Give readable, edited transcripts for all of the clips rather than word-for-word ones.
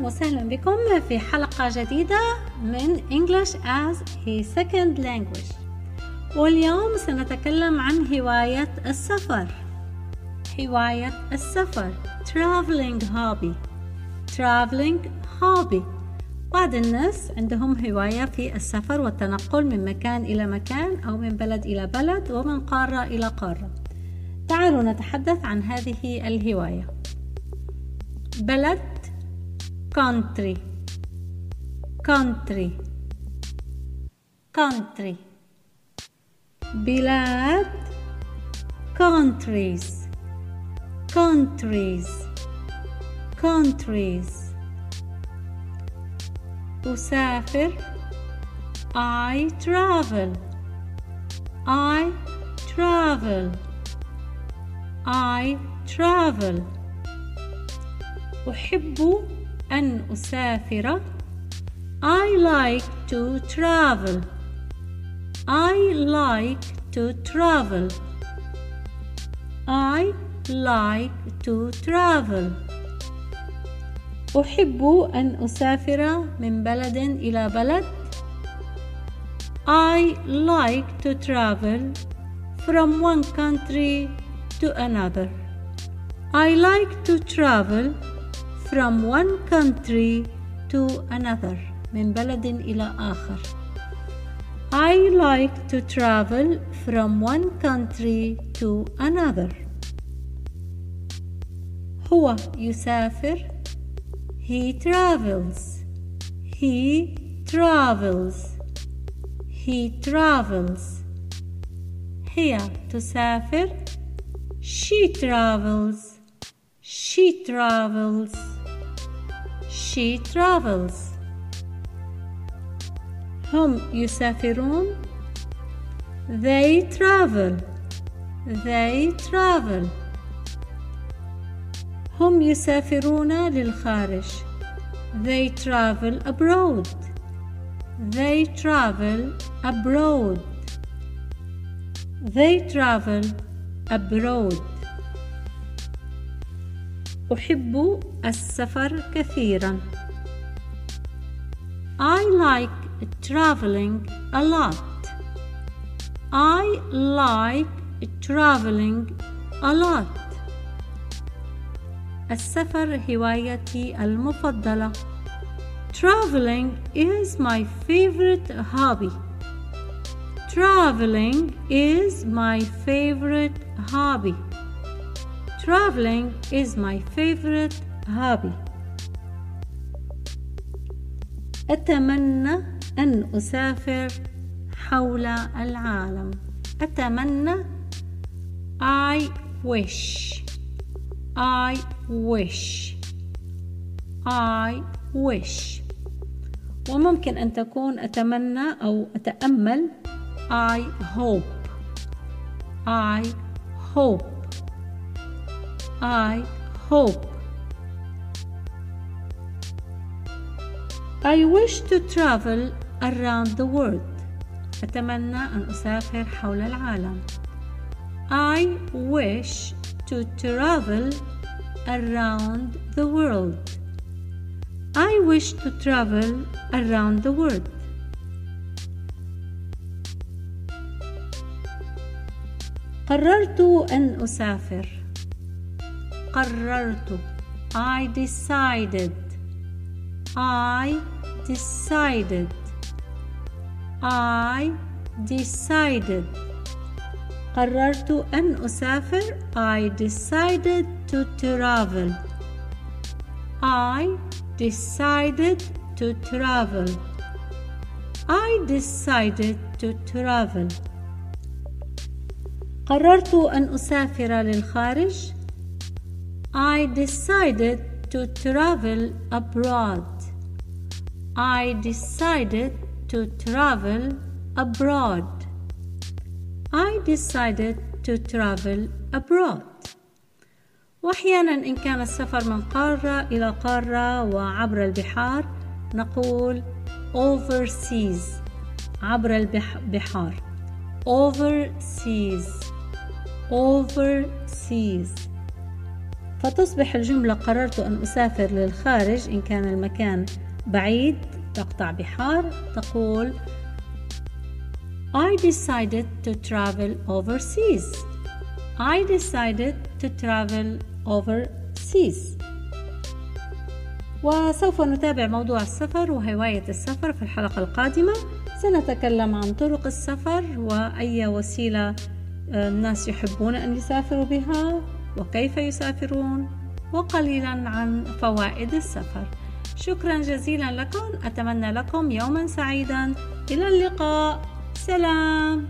وسهلا بكم في حلقة جديدة من English as a Second Language. واليوم سنتكلم عن هواية السفر. Traveling hobby. بعض الناس عندهم هواية في السفر والتنقل من مكان إلى مكان أو من بلد إلى بلد ومن قارة إلى قارة. تعالوا نتحدث عن هذه الهواية. بلد country بلاد countries أسافر I travel أحب أن أسافر I like to travel أحب أن أسافر من بلد إلى بلد I like to travel from one country to another. I like to travel from one country to another. من بلد إلى آخر. I like to travel from one country to another. هو يسافر. He travels. هي تسافر. She travels. هم يسافرون. They travel. هم يسافرون للخارج. They travel abroad. أحب السفر كثيرا. I like traveling a lot. السفر هوايتي المفضلة. Traveling is my favorite hobby. أتمنى أن أسافر حول العالم. I wish. وممكن أن تكون أتمنى أو أتأمل. I hope. I wish to travel around the world. أتمنى أن أسافر حول العالم. I wish to travel around the world. قررت أن أسافر. I decided. قررت أن أسافر. I decided to travel. قررت أن أسافر للخارج. I decided to travel abroad. وأحيانا إن كان السفر من قارة إلى قارة وعبر البحار نقول overseas. عبر البحار. overseas. فتصبح الجملة قررت أن أسافر للخارج إن كان المكان بعيد تقطع بحار، تقول I decided to travel overseas. I decided to travel overseas. وسوف نتابع موضوع السفر وهواية السفر في الحلقة القادمة. سنتكلم عن طرق السفر وأي وسيلة الناس يحبون أن يسافروا بها وكيف يسافرون، وقليلا عن فوائد السفر. شكرا جزيلا لكم، أتمنى لكم يوما سعيدا، إلى اللقاء، سلام.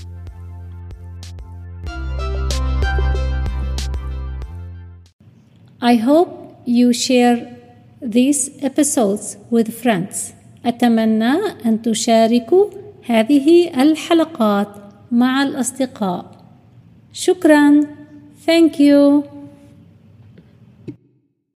I hope you share these episodes with friends. أتمنى أن تشاركوا هذه الحلقات مع الأصدقاء. شكرا. Thank you.